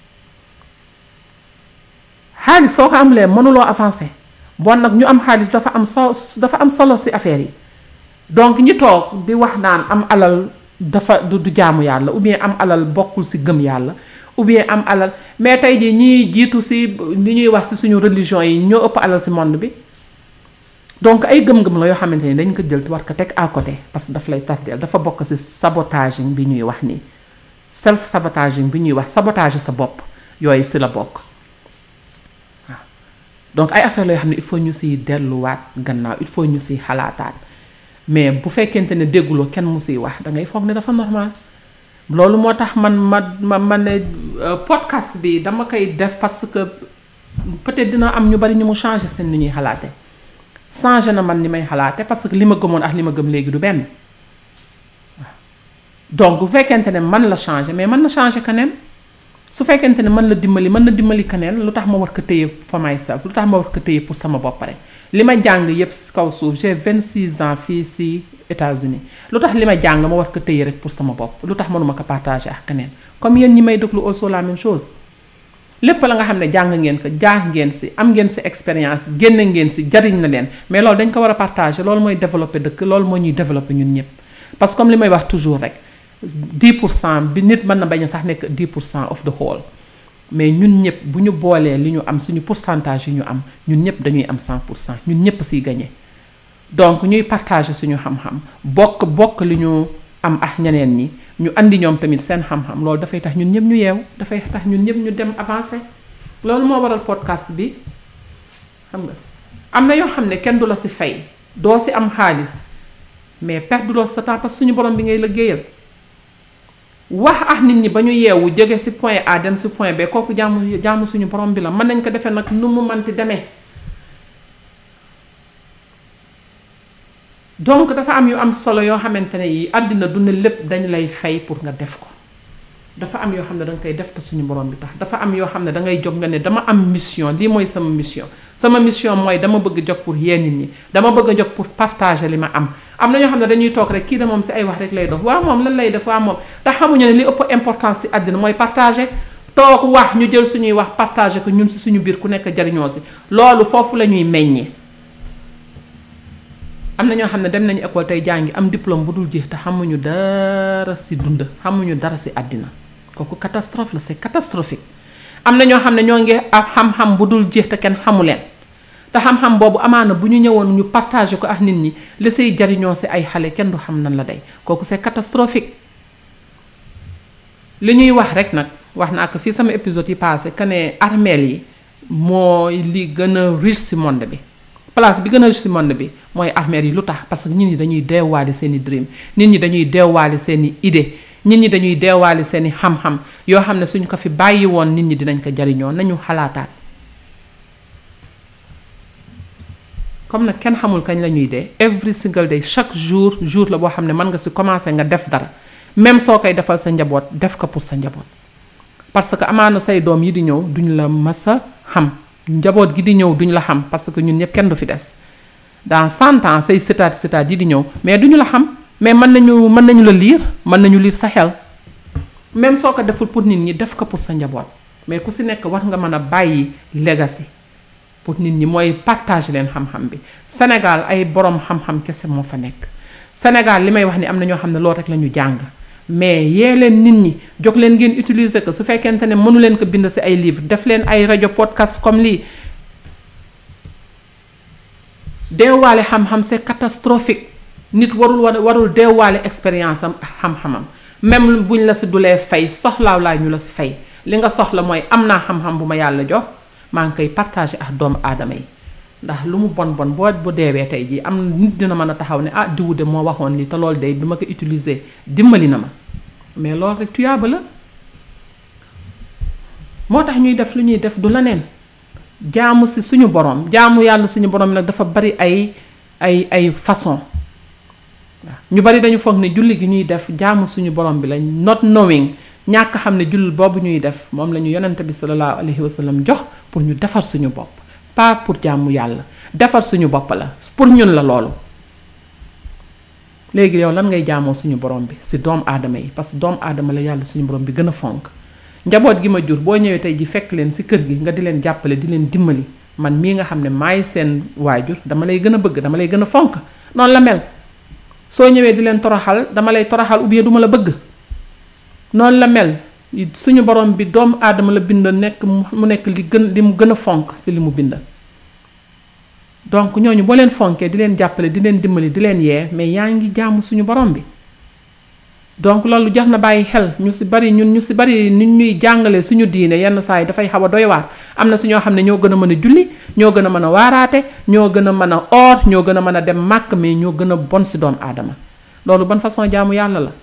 xaalis soo ko amulee mënuloo avancer bon nag ñu am xaalis dafa am so dafa am solo ci affaire yi donc ñi toog di wax naan am alal dafa du du jaamu yàlla ou bien am alal bokkul ci gëm yàlla ou bien am alal mais tey jii ñiy jiitu ci li ñuy wax ci suñu religion yi ñoo ëpp alal ci monde bi donc ay gëm-gëm la yoo xamante ni dañ ko jël war ko teg à côté parce que daf lay tardeel dafa bokk ci sabotaging bi ñuy wax nii self sabotaging bi ñuy wax sabotage sa bopp yooyu ci la bokk waaw donc ay affaire la yoo xam ne il faut ñu ciy delluwaat gannaaw il faut ñu ciy xalaataat mais bu fekkente ne dégguloo kenn mu ciy wax da ngay foog ne dafa normal loolu moo tax man ma ma ma ne podcast bi dama koy def parce que peut-être dina am ñu bari ñu mu changer seen ni ñuy xalaate changer na man ni may xalaate parce que li ma gëmoon ak li ma gëm léegi du benn waaw donc bu fekkente ne man la changer mais mën na changer keneen su fekkente ne mën la dimbali mën na dimbali keneen lu tax ma war ko téye for myself lu tax ma war ko téye pour sama bopp rek li ma jàng yépp ci kaw suuf j'ai vingt-six ans fii ci États-Unis lu tax li ma jàng ma war ko téye rek pour sama bopp lu tax mënuma ko partager ak keneen comme yéen ñi may déglu also la même chose lépp la nga xam ne jàng ngeen ko jaar ngeen si am ngeen si expérience génne ngeen si jariñ na leen mais loolu dañ ko war a partager loolu mooy développer dëkk loolu moo ñuy développer ñun ñëpp parce que comme li may wax toujours rek dix pour cent bi nit mën na bañ a sax nekk dix pour cent of the whole mais ñun ñëpp bu ñu boolee li ñu am suñu pourcentage yi ñu am ñun ñëpp dañuy am cent pour cent ñun ñëpp siy gagné donc ñuy partager suñu xam-xam bokk bokk li ñu am ak ñeneen ñi ñu andi ñoom tamit seen xam-xam loolu dafay tax ñun ñëpp ñu yeew dafay tax ñun ñëpp ñu dem avancer loolu moo waral podcast bi xam nga am na yoo xam ne kenn du la si fay doo si am xaalis mais perduloo sa temps parce que suñu borom bi ngay liggéeyal wax ak nit ñi ba ñu yeewu jóge si point A dem si point B kooku jaamu jaamu suñu borom bi la mën nañ ko defee nag nu mu manti demee donc dafa am yu am solo yoo xamante ne yi àddina du ne lépp dañ lay fay pour nga def ko dafa am yoo xam ne danga koy def te suñu borom bi tax dafa am yoo xam ne dangay jóg nga ne dama am mission lii mooy sama mission sama mission mooy dama bëgg jóg pour yee nit ñi dama bëgg a jóg pour partager li ma am am na ñoo xam ne dañuy toog rek kii de moom si ay wax rek lay dox waaw moom lan lay def waaw moom te xamuñu ne li ëpp importance si àddina mooy partager toog wax ñu jël suñuy wax partager ko ñun si suñu biir ku nekk jariñoo si loolu foofu la ñuy meññee am na ñoo xam ne dem nañu école tey jàngi am diplôme bu dul jeex te xamuñu dara si dund xamuñu dara si àddina kooku catastrophe la c'est catastrophique am na ñoo xam ne ñoo ngi am xam-xam bu dul jeex te kenn xamu leen te xam-xam boobu amaana bu ñu ñëwoon ñu partager ko ak nit ñi li say jariñoo si ay xale kenn du xam nan la day kooku c'est catastrophique li ñuy wax rek nag wax naa ko fii sama épisode yi passé que ne armeel yi mooy li gën a riche si monde bi place bi gën a riche si monde bi mooy armeel yi lu tax parce que nit ñi dañuy deewaale seen i dream nit ñi dañuy deewaale seen i idée nit ñi dañuy deewaale seen i xam-xam yoo xam ne suñ ko fi bàyyi woon nit ñi dinañ ko jariñoo nañu xalaataat comme nag kenn xamul kañ la ñuy dee every single day chaque jour jour la boo xam ne mën nga si commencer nga def dara même soo koy defal sa njaboot def ko pour sa njaboot parce que amaana say doom yi di ñëw duñ la mas a xam njaboot gi di ñëw duñ la xam parce que ñun ñëpp kenn du fi des dans cent ans say sëtaat sëtaat yi di ñëw mais duñu la xam mais mën nañu mën nañu la lire mën nañu lire sa xel même soo ko deful pour nit ñi def ko pour sa njaboot mais ku si nekk war nga mën a bàyyi legacy pour nit ñi mooy partager leen xam-xam bi Sénégal ay borom xam-xam kese moo fa nekk Sénégal li may wax ni am na ñoo xam ne loolu rek la ñu jàng mais yee leen nit ñi jóg leen ngeen utiliser ko su fekkente ne mënu leen ko bind ci ay livre def leen ay rajo podcast comme lii deewaale xam-xam c'est catastrophique nit warul warul deewaale expérience am xam-xamam même buñ la si dulee fay soxlaaw laa ñu la si fay li nga soxla mooy am naa xam-xam bu ma yàlla jox maa ngi koy partager ak doomu aadama yi ndax lu mu bon bon boo bu deewee tey jii am nit dina mën a taxaw ne ah diwu de moo waxoon lii te loolu de bi ma ko utiliser dimbali na ma mais loolu rek tuyaaba la moo tax ñuy def lu ñuy def du la neen jaamu si suñu borom jaamu yàlla suñu borom nag dafa bari ay ay ay façon waaw ñu bari dañu foog ne julli gi ñuy def jaamu suñu borom bi lañ not knowing ñàkk xam ne julli boobu ñuy def moom la ñu yonente bi sallallahu alayhi wa sallam jox pour ñu defar suñu bopp pas pour jaamu yàlla defar suñu bopp la pour ñun la loolu léegi yow lan ngay jaamoo suñu borom bi si doomu aadama yi parce que doomu aadama la yàlla suñu borom bi gën a fonk njaboot gi ma jur boo ñëwee tey ji fekk leen si kër gi nga di leen jàppale di leen dimbali man mii nga xam ne maay seen waajur dama lay gën a bëgg dama lay gën a fonk noonu la mel soo ñëwee di leen toroxal dama lay toroxal ou bien duma la bëgg noonu la mel suñu borom bi doomu aadama la bind nekk mu nekk li gën li mu gën a fonk si li mu bind donc ñooñu boo leen fonkee di leen jàppale di leen dimbali di leen yee mais yaa ngi jaamu suñu borom bi donc loolu jar na bàyyi xel ñu si bari ñun ñu si bari nit ñuy jàngale suñu diine yenn saa yi dafay xaw a doy waar am na si ñoo xam ne ñoo gën a mën a julli ñoo gën a mën a waaraate ñoo gën a mën a oor ñoo gën a mën a dem màkk mais ñoo gën a bon si doomu aadama loolu ban façon jaamu yàlla la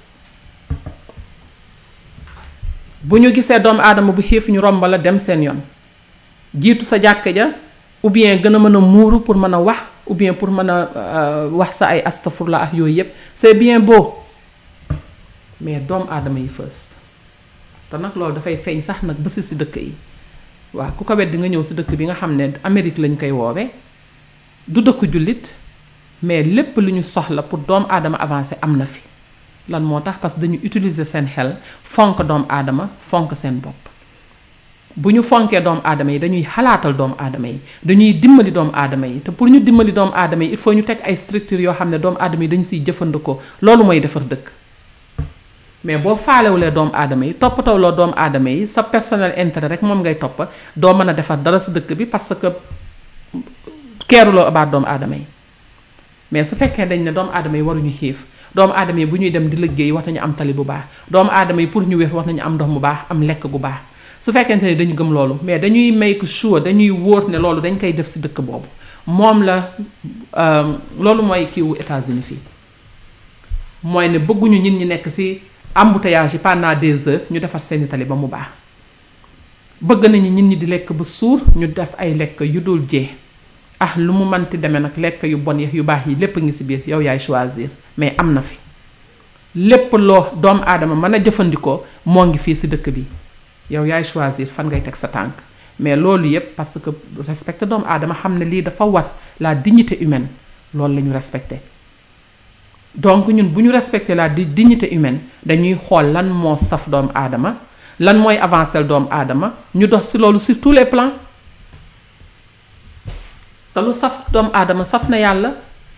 bu ñu gisee doomu aadama bu xiif ñu romb la dem seen yoon jiitu sa jàkk ja ou bien gën a mën a muuru pour mën a wax ou bien pour mën a wax sa ay astafurla ak yooyu yépp c'est bien beau mais doomu aadama yi fës te nag loolu dafay feeñ sax nag ba si si dëkk yi waaw ku ko wet di nga ñëw si dëkk bi nga xam ne Amérique lañ koy woowee du dëkk jullit mais lépp lu ñu soxla pour doomu aadama avancer am na fi lan moo tax parce que dañu utiliser seen xel fonk doomu aadama fonk seen bopp bu ñu fonkee doomu aadama yi dañuy xalaatal doomu aadama yi dañuy dimbali doomu aadama yi te pour ñu dimbali doomu aadama yi il faut ñu teg ay structures yoo xam ne doomu aadama yi dañu siy jëfandikoo loolu mooy defar dëkk mais boo faalewulee doomu aadama yi toppatawloo doomu aadama yi sa personnel intérêt rek moom ngay topp doo mën a defar dara si dëkk bi parce que keeruloo abaat doomu aadama yi mais su fekkee dañ ne doomu aadama yi waruñu xiif doomu aadama yi bu ñuy dem di liggéey war nañu am tali bu baax doomu aadama yi pour ñu wér war nañu am ndox mu baax am lekk gu baax su fekkente ne dañu gëm loolu mais dañuy make sure dañuy wóor ne loolu dañ koy def si dëkk boobu moom la loolu mooy kiiwu États-Unis fii mooy ne bëgguñu nit ñi nekk si embouteillage yi pendant des heures ñu defar seeni tali ba mu baax bëgg nañu nit ñi di lekk ba suur ñu def ay lekk yu dul jee ah lu mu manti demee nag lekk yu bon yi yu baax yi lépp ngi si biir yow yaay choisir mais am na fi lépp loo doomu aadama mën a jëfandikoo moo ngi fii si dëkk bi yow yaay choisir fan ngay teg sa tànk mais loolu yépp parce que respecter doomu aadama xam ne lii dafa war la dignité humaine loolu la ñu respecté donc ñun bu ñu respecter la dignité humaine dañuy xool lan moo saf doomu aadama lan mooy avancer doomu aadama ñu dox si loolu sur tous les plans te lu saf doomu aadama saf na yàlla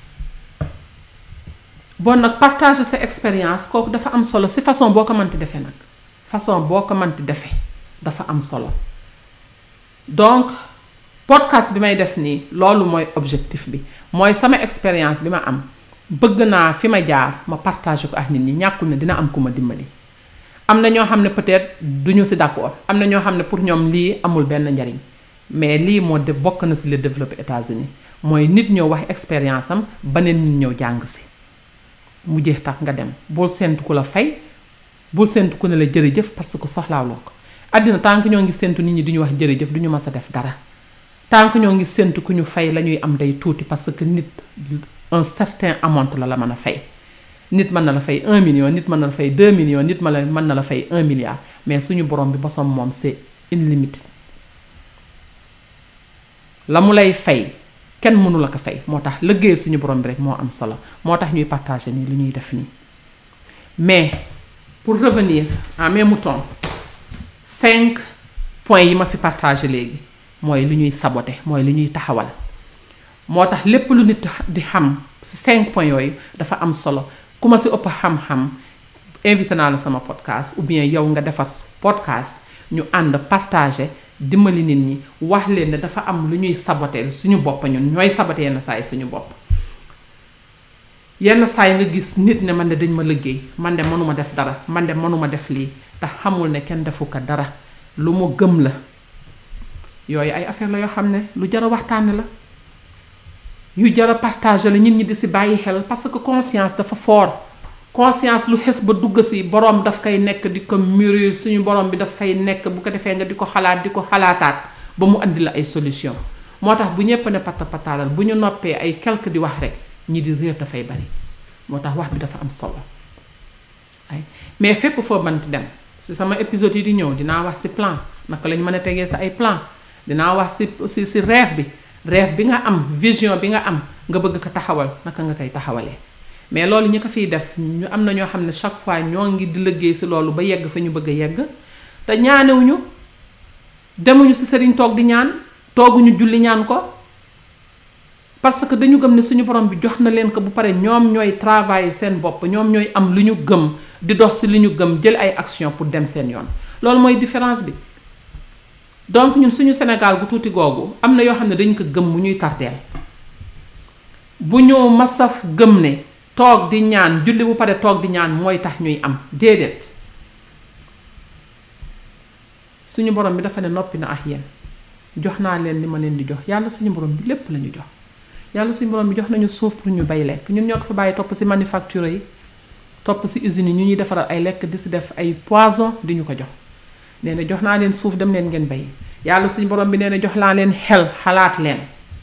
bon nag partager sa expérience kooku dafa am solo si façon boo ko mënti defee nag façon boo ko mënti defee dafa am solo donc podcast bi may def nii loolu mooy objectif bi mooy sama expérience bi ma am bëgg naa fi ma jaar ma partager ko ak nit ñi ñàkkul ne dina am ku ma dimbali am na ñoo xam ne peut-être duñu si d'accord am na ñoo xam ne pour ñoom lii amul benn njariñ mais lii moo de bokk na si le développé États-Unis mooy nit ñëw wax expérience am beneen nit ñëw jàng si mu jeex tax nga dem bul séntu ku la fay bul séntu ku ne la jërëjëf parce que soxlaaloo ko àddina tant que ñoo ngi séntu nit ñi duñu wax jërëjëf duñu mës a def dara tant que ñoo ngi séntu ku ñu fay la ñuy am day tuuti parce que nit un certain amount la la mën a fay nit mën na la fay un million nit mën na la fay deux millions nit mën mën na la fay un milliard mais suñu borom bi bosom moom c'est illimité la mu lay fay kenn mënu la ko fay moo tax liggéey suñu borom bi rek moo am solo moo tax ñuy partager nii lu ñuy def nii mais pour revenir en mes moutons cinq points yi ma fi partager léegi mooy lu ñuy saboter mooy lu ñuy taxawal moo tax lépp lu nit di xam ci cinq points yooyu dafa am solo ku ma ci ëpp xam-xam invité naa la sama podcast ou bien yow nga defar podcast ñu ànd partager dimbali nit ñi wax leen ne dafa am lu ñuy saboter suñu bopp ñun ñooy saboter yenn saa yi suñu bopp yenn saa yi nga gis nit ne man de dañ ma liggéey man de mënuma def dara man de mënuma def lii te xamul ne kenn defu ko dara lu mu gëm la yooyu ay affaire la yoo xam ne lu jar a waxtaane la yu jar a partager la nit ñi di si bàyyi xel parce que conscience dafa fort conscience lu xes ba dugg si borom daf koy nekk di ko mûrir suñu borom bi daf fay nekk bu ko defee nga di ko xalaat di ko xalaataat ba mu andi la ay solution moo tax bu ñépp ne pata pataalal bu ñu noppee ay quelque di wax rek ñi di réer dafay bari moo tax wax bi dafa am solo ay mais fépp foo mënti dem si sama épisode yi di ñëw dinaa wax si plan naka lañ mën a tegee sa ay plan dinaa wax si si si rêve bi rêve bi nga am vision bi nga am nga bëgg ko taxawal naka nga koy taxawalee mais loolu ñi ko fiy def ñu am na ñoo xam ne chaque fois ñoo ngi di liggéey si loolu ba yegg fa ñu bëgg a yegg te ñaanewuñu demuñu si sëriñ toog di ñaan tooguñu julli ñaan ko parce que dañu gëm ne suñu borom bi jox na leen ko bu pare ñoom ñooy travailler seen bopp ñoom ñooy am lu ñu gëm di dox si li ñu gëm jël ay action pour dem seen yoon loolu mooy différence bi donc ñun suñu Sénégal gu tuuti googu am na yoo xam ne dañ ko gëm mu ñuy tardeel bu ñu masaf gëm ne toog di ñaan julli bu pare toog di ñaan mooy tax ñuy am déedéet suñu borom bi dafa ne noppi na ak yéen jox naa leen li ma leen di jox yàlla suñu borom bi lépp lañu jox yàlla suñu borom bi jox nañu suuf pour ñu bay lekk ñun ñoo ko fa bàyyi topp ci manufacture yi topp ci usines yi ñu ñuy defaral ay lekk di ci def ay poison di ñu ko jox nee na jox naa leen suuf dem leen ngeen bay yàlla suñu borom bi nee na jox naa leen xel xalaat leen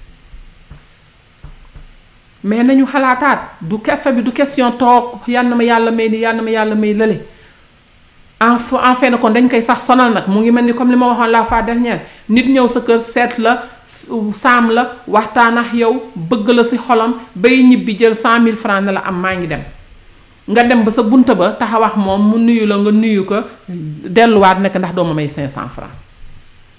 mais nañu xalaataat du kefe bi du question toog yal na ma yàlla may ni yal na ma yàlla may lële en en fait na kon dañ koy sax sonal nag mu ngi mel ni comme li ma waxoon la fois dernière nit ñëw sa kër seet la saam la waxtaan ak yow bëgg la ci xolam bay ñibbi jël cent mille francs ne la am maa ngi dem nga dem ba sa bunta ba taxaw ak moom mu nuyu la nga nuyu ko delluwaat nekk ndax doo ma may cinq cent francs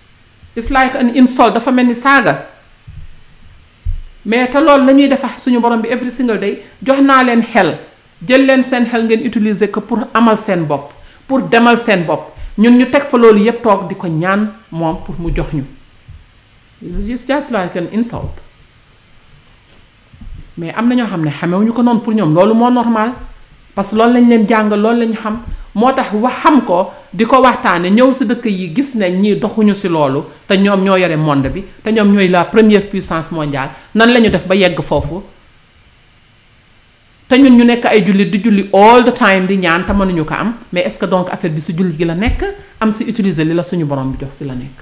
it's like an insult, dafa mel ni saaga. Mais te loolu la ñuy defa suñu borom bi every single day jox naa leen xel jël leen seen xel ngeen utiliser ko pour amal seen bopp pour demal seen bopp ñun ñu teg fa loolu yépp toog di ko ñaan moom pour mu jox ñu. It's just like an insult. Mais am na ñoo xam ne xamewuñu ko noonu pour ñoom loolu moo normal parce que loolu lañ leen jàngal loolu lañ xam moo tax wax xam ko di ko waxtaane ñëw si dëkk yi gis nañ ñii doxuñu si loolu te ñoom ñoo yore monde bi te ñoom ñooy la première puissance mondiale nan la ñu def ba yegg foofu te ñun ñu nekk ay jullit di julli all the time di ñaan te mënuñu ko am mais est-ce que donc affaire bi si julli gi la nekk am si utiliser li la suñu borom bi jox si la nekk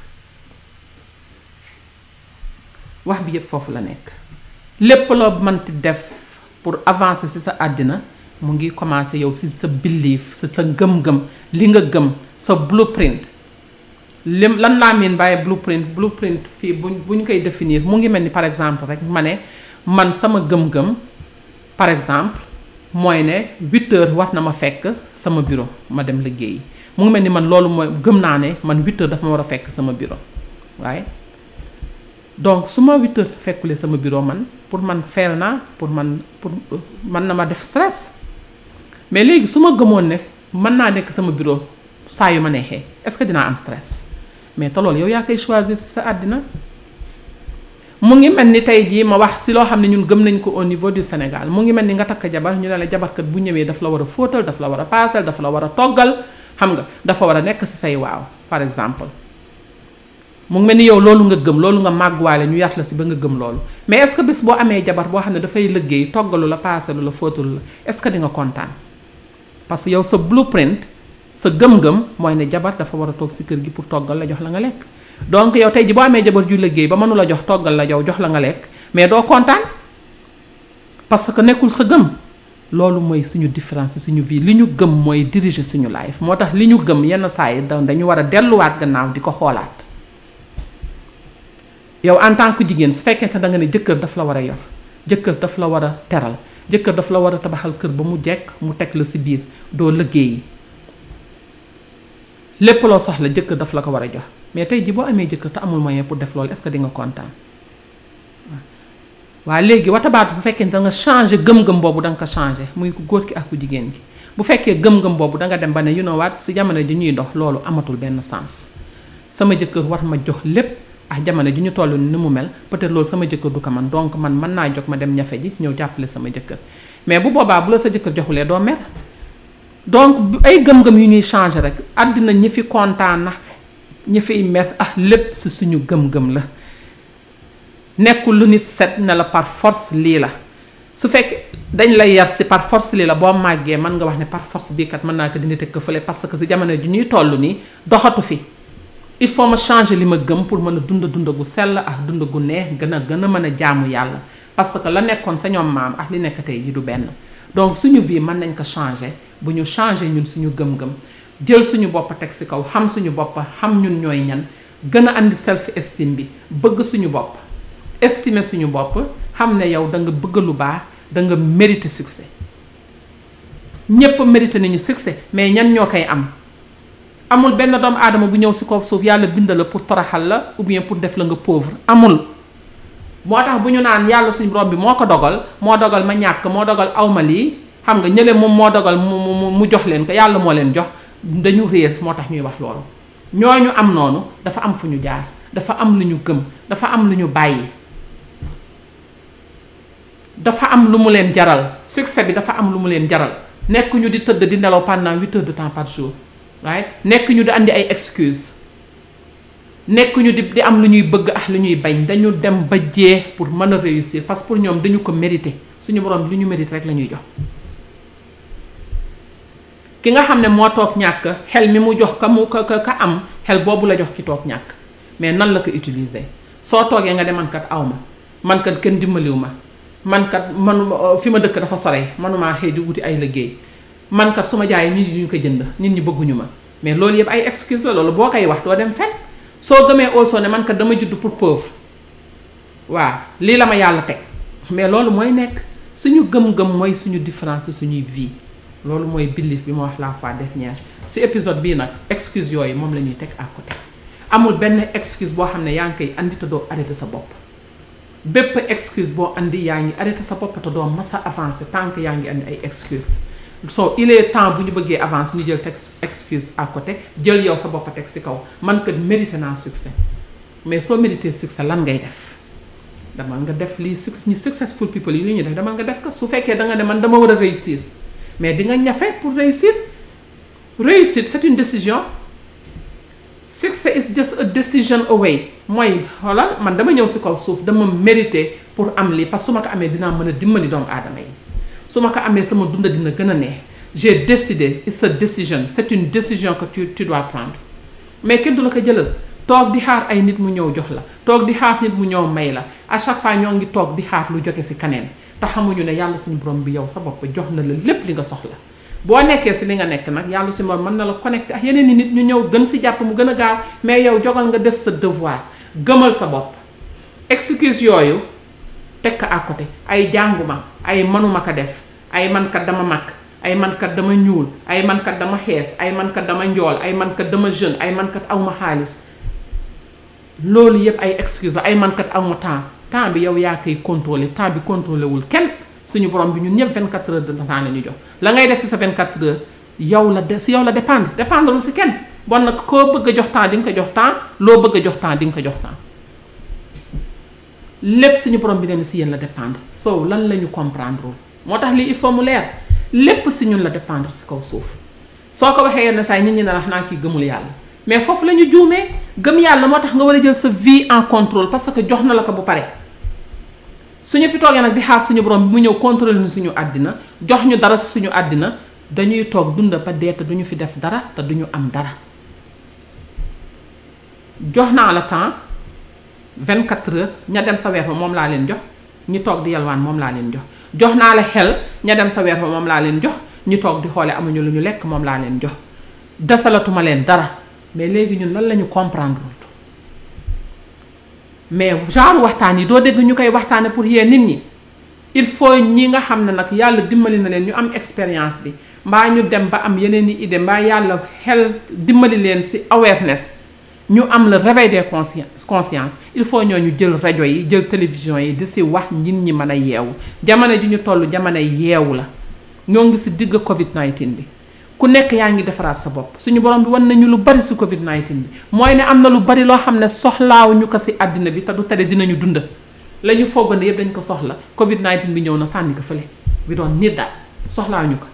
wax bi yépp foofu la nekk lépp loo mënti def pour avancer si sa àddina mu ngi commencer yow si sa belief si sa gëm-gëm li nga gëm sa blueprint lim lan laa miin bàyyi blueprint blueprint fii bu bu ñu koy définir mu ngi mel ni par exemple rek ma ne man sama gëm-gëm par exemple mooy ne huit heures war na ma fekk sama bureau ma dem liggéeyi mu ngi mel ni man loolu mooy gëm naa ne man huit heures dafa ma war a fekk sama bureau waaye donc su ma huit heures fekkulee sama bureau man pour man feel naa pour man pour man na ma def stress mais léegi su ma gëmoon ne mën naa nekk sama bureau saa yu ma neexee est-ce que dinaa am stress mais te loolu yow yaa koy choisir ci sa àddina mu ngi mel ni tey jii ma wax ci loo xam ne ñun gëm nañ ko au niveau du Sénégal mu ngi mel ni nga takk jabar ñu ne la jabarkat bu ñëwee daf la war a fóotal daf la war a paasal daf la war a toggal xam nga dafa war a nekk ci say waaw par exemple mu ngi mel ni yow loolu nga gëm loolu nga màgguwaale ñu yar la ci ba nga gëm loolu mais est-ce que bés boo amee jabar boo xam ne dafay liggéey toggalu la paasalu la fóotalu la est-ce que di nga kontaan parce que yow sa blueprint sa gëm-gëm mooy ne jabar dafa war a toog ci kër gi pour toggal la jox la nga lekk donc yow tey ji boo amee jabar ju liggéey ba mënu la jox toggal la yow jox la nga lekk mais doo kontaan parce que nekkul sa gëm loolu mooy suñu différence suñu vie li ñu gëm mooy diriger suñu life moo tax li ñu gëm yenn saa yi dañu war a delluwaat gannaaw di ko xoolaat yow en tant que jigéen su fekkente da nga ne jëkkër daf la war a yor jëkkër daf la war a teral jëkkër daf la war a tabaxal kër ba mu jekk mu teg la ci biir doo liggéeyi lépp loo soxla jëkkër daf la ko war a jox mais tey ji boo amee jëkkër te amul moyen pour def loolu est-ce que di nga kontaan waaw léegi watabaatu bu fekkee da nga changer gëm-gëm boobu da nga ko changer muy ku góor ki ak ku jigéen gi bu fekkee gëm-gëm boobu da nga dem ba ne you know what ci jamono ji ñuy dox loolu amatul benn sens sama jëkkër war ma jox lépp ah jamono ji ñu toll ni mu mel peut-être loolu sama jëkkër du ko man donc man mën naa jóg ma dem ñafe ji ñëw jàppale sama jëkkër mais bu boobaa bu la sa jëkkër joxulee doo mer donc ay gëm-gëm yu ñuy changer rek àddina ñi fi kontaan na ñi fiy mer ah lépp ci suñu gëm-gëm la nekkul lu nit set ne la par force lii la su fekk dañ lay yar ci par force lii la boo màggee mën nga wax ne par force bii kat mën naa ko dindi teg ko fële parce que ci jamono ji ñuy toll nii doxatu fi il faut ma changer li ma gëm pour mën a dund dund gu sell ak dund gu neex gën a gën a mën a jaamu yàlla parce que la nekkoon sa ñoom maam ak li nekk tey ji du benn donc suñu vie mën nañ ko changer bu ñu changer ñun suñu gëm-gëm jël suñu bopp teg ci kaw xam suñu bopp xam ñun ñooy ñan gën a andi self esteem bi bëgg suñu bopp estimer suñu bopp xam ne yow da nga bëgg lu baax da nga mériter succès ñépp mériter nañu succès mais ñan ñoo koy am amul benn doomu aadama bu ñëw ci kaw suuf yàlla bind la pour toroxal la ou bien pour def la nga pauvre amul moo tax bu ñu naan yàlla suñu borom bi moo ko dogal moo dogal ma ñàkk moo dogal awma lii xam nga ñële moom moo dogal mu mu mu jox leen ko yàlla moo leen jox dañu réer moo tax ñuy wax loolu ñooñu am noonu dafa am fu ñu jaar dafa am lu ñu gëm dafa am lu ñu bàyyi dafa am lu mu leen jaral succès bi dafa am lu mu leen jaral nekk ñu di tëdd di nelaw pendant huit heures de temps par jour waaye nekk ñu di andi ay excuse nekk ñu di di am lu ñuy bëgg ak lu ñuy bañ dañu dem ba jeex pour mën a réussir parce que pour ñoom dañu ko mérité suñu borom li ñu mérité rek la ñuy jox ki nga xam ne moo toog ñàkk xel mi mu jox ka mu ka ka am xel boobu la jox ki toog ñàkk mais nan la ko utiliser soo toogee nga de man kat aw ma man kat kenn dimbaliw ma man kat man fi ma dëkk dafa sore manumaa xëy di wuti ay liggéey man kat su ma jaayee nit ñi duñu ko jënd nit ñi bëgguñu ma mais loolu yëpp ay excuse la loolu boo koy wax doo dem fenn soo gëmee also ne man kat dama judd pour pauvre waaw lii la ma yàlla teg mais loolu mooy nekk suñu gëm-gëm mooy suñu différence suñuy vie loolu mooy belief bi ma wax la fois dernière ci épisode bii nag excuse yooyu moom la ñuy teg à côté amul benn excuse boo xam ne yaa ngi koy andi te doo arrêté sa bopp bépp excuse boo andi yaa ngi arrêté sa bopp te doo mas a avancé tant que yaa ngi andi ay excuse so il est temps bu ñu bëggee avancer ñu jël teg excuse à côté jël yow sa bopp teg ci kaw man kat mérité naa succès mais soo mérité succès lan ngay def damal nga def lii succès ñi successful people yi li ñuy def damal nga def ko su fekkee da nga ne man dama war a réussir mais di nga ñafe pour réussir réussir c'est une décision success is just a decision away mooy xoolal man dama ñëw ci kaw suuf dama mérité pour am lii parce que su ma ko amee dinaa mën a dimbali doomu aadama yi su ma ko amee sama dunda dina gën a neex j'ai décidé it's a decision c'est une décision que tu tu dois prendre mais kenn du la ko jëlal toog di xaar ay nit mu ñëw jox la toog di xaar nit mu ñëw may la à chaque fois ñoo ngi toog di xaar lu jóge ci kaneen te xamuñu ne yàlla suñu borom bi yow sa bopp jox na la lépp li nga soxla boo nekkee ci li nga nekk nag yàlla suñu borom mën na la connecté ak yeneen i nit ñu ñëw gën ci jàpp mu gën a gaaw mais yow jogal nga def sa devoir gëmal sa bopp excuse yooyu teg ko à côté ay jànguma ay mënuma ko def ay mankat dama mag ay mankat dama ñuul ay mankat dama xees ay mankat dama njool ay mankat dama jeune ay mankat awma xaalis loolu yëpp ay excuse la ay mankat awma temps temps bi yow yaa koy contrôler temps bi contrôlé wul kenn suñu borom bi ñun ñëpp vingt-quatre heures de temps la ñu jox la ngay def ci sa vingt-quatre heures yow la de ci yow la dépendre dépendre lu ci kenn bon nag koo bëgg a jox temps di nga ko jox temps loo bëgg a jox temps di nga ko jox temps lépp suñu borom bi leen ci yéen la dépendre so lan la ñu comprendre moo tax lii il faut mu leer lépp ci ñun la dépendre ci kaw suuf soo ko waxee yenn saa yi nit ñi ne wax naa kii gëmul yàlla mais foofu la ñu juumee gëm yàlla moo tax nga war a jël sa vie en contrôle parce que jox na la ko bu pare suñu fi toogee nag di xaar suñu borom bi mu ñëw contrôle ñu suñu àddina jox ñu dara ci suñu àddina dañuy toog dunda ba dee te duñu fi def dara te duñu am dara jox naa la temps vingt-quatre heures ña dem sa weer ba moom laa leen jox ñi toog di yalwaan moom laa leen jox jox naa la xel ña dem sa weer ba moom laa leen jox ñi toog di xoole amuñu lu ñu lekk moom laa leen jox desalatuma leen dara mais léegi ñun lan la ñu comprendre mais genre waxtaan yi doo dégg ñu koy waxtaane pour yee nit ñi il faut ñi nga xam ne nag yàlla dimbali na leen ñu am expérience bi mbaa ñu dem ba am yeneen i idée mbaa yàlla xel dimbali leen ci awareness ñu am le réveil des conscience conscience il faut ñoo ñu jël rajo yi jël télévision yi di ci wax nit ñi mën a yeewu jamono ji ñu toll jamono yeewu la ñoo ngi ci digg covid dix-neuf bi ku nekk yaa ngi defaraat sa bopp suñu borom bi wan nañu lu bari ci covid dix-neuf bi mooy ne am na lu bari loo xam ne soxlaaw ñu ko ci àddina bi te du tere dinañu dund la ñu foogande yëpp dañ ko soxla covid dix-neuf bi ñëw na sànni ko fële bi doon nit daal soxlaaw ñu ko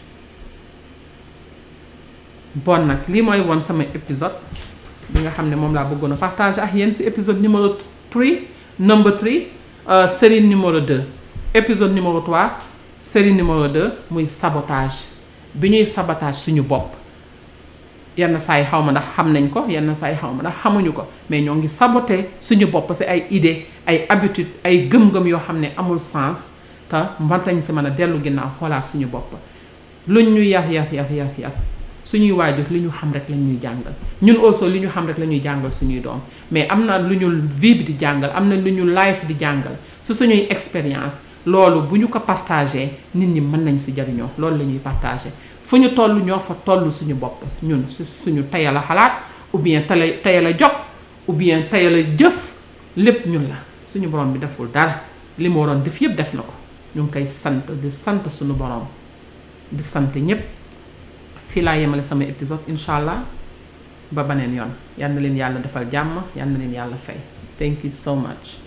bon nag lii mooy woon sama épisode bi nga xam ne moom laa bëggoon a partager ak yéen ci épisode numéro trois number three série numéro deux épisode numéro trois série numéro deux muy sabotage bi ñuy sabotage suñu bopp yenn saa yi xaw ma ndax xam nañ ko yenn saa yi xaw ma ndax xamuñu ko mais ñoo ngi saboter suñu bopp ci ay idées ay habitudes ay gëm-gëm yoo xam ne amul sens te mën lañu ci mën a dellu ginnaaw xoolaat suñu bopp luñ ñu yar yar yar yar yar suñuy waajur li ñu xam rek la ñuy jàngal ñun aussi li ñu xam rek la ñuy jàngal suñuy doom mais am na lu ñu vie bi di jàngal am na lu ñu life di jàngal ci suñuy expérience loolu bu ñu ko partagé nit ñi mën nañ ci jariñoo loolu la ñuy partagé fu ñu toll ñoo fa toll suñu bopp ñun ci suñu tayal a xalaat ou bien tayal tayal a jog ou bien tayal a jëf lépp ñun la suñu borom bi deful dara li mu waroon def yëpp def na ko ñu ngi koy sant di sant suñu borom di sant ñépp fii laa yemale sama épisode incha allah ba beneen yoon yal na leen yàlla defal jàmm yal na leen yàlla fay thank you so much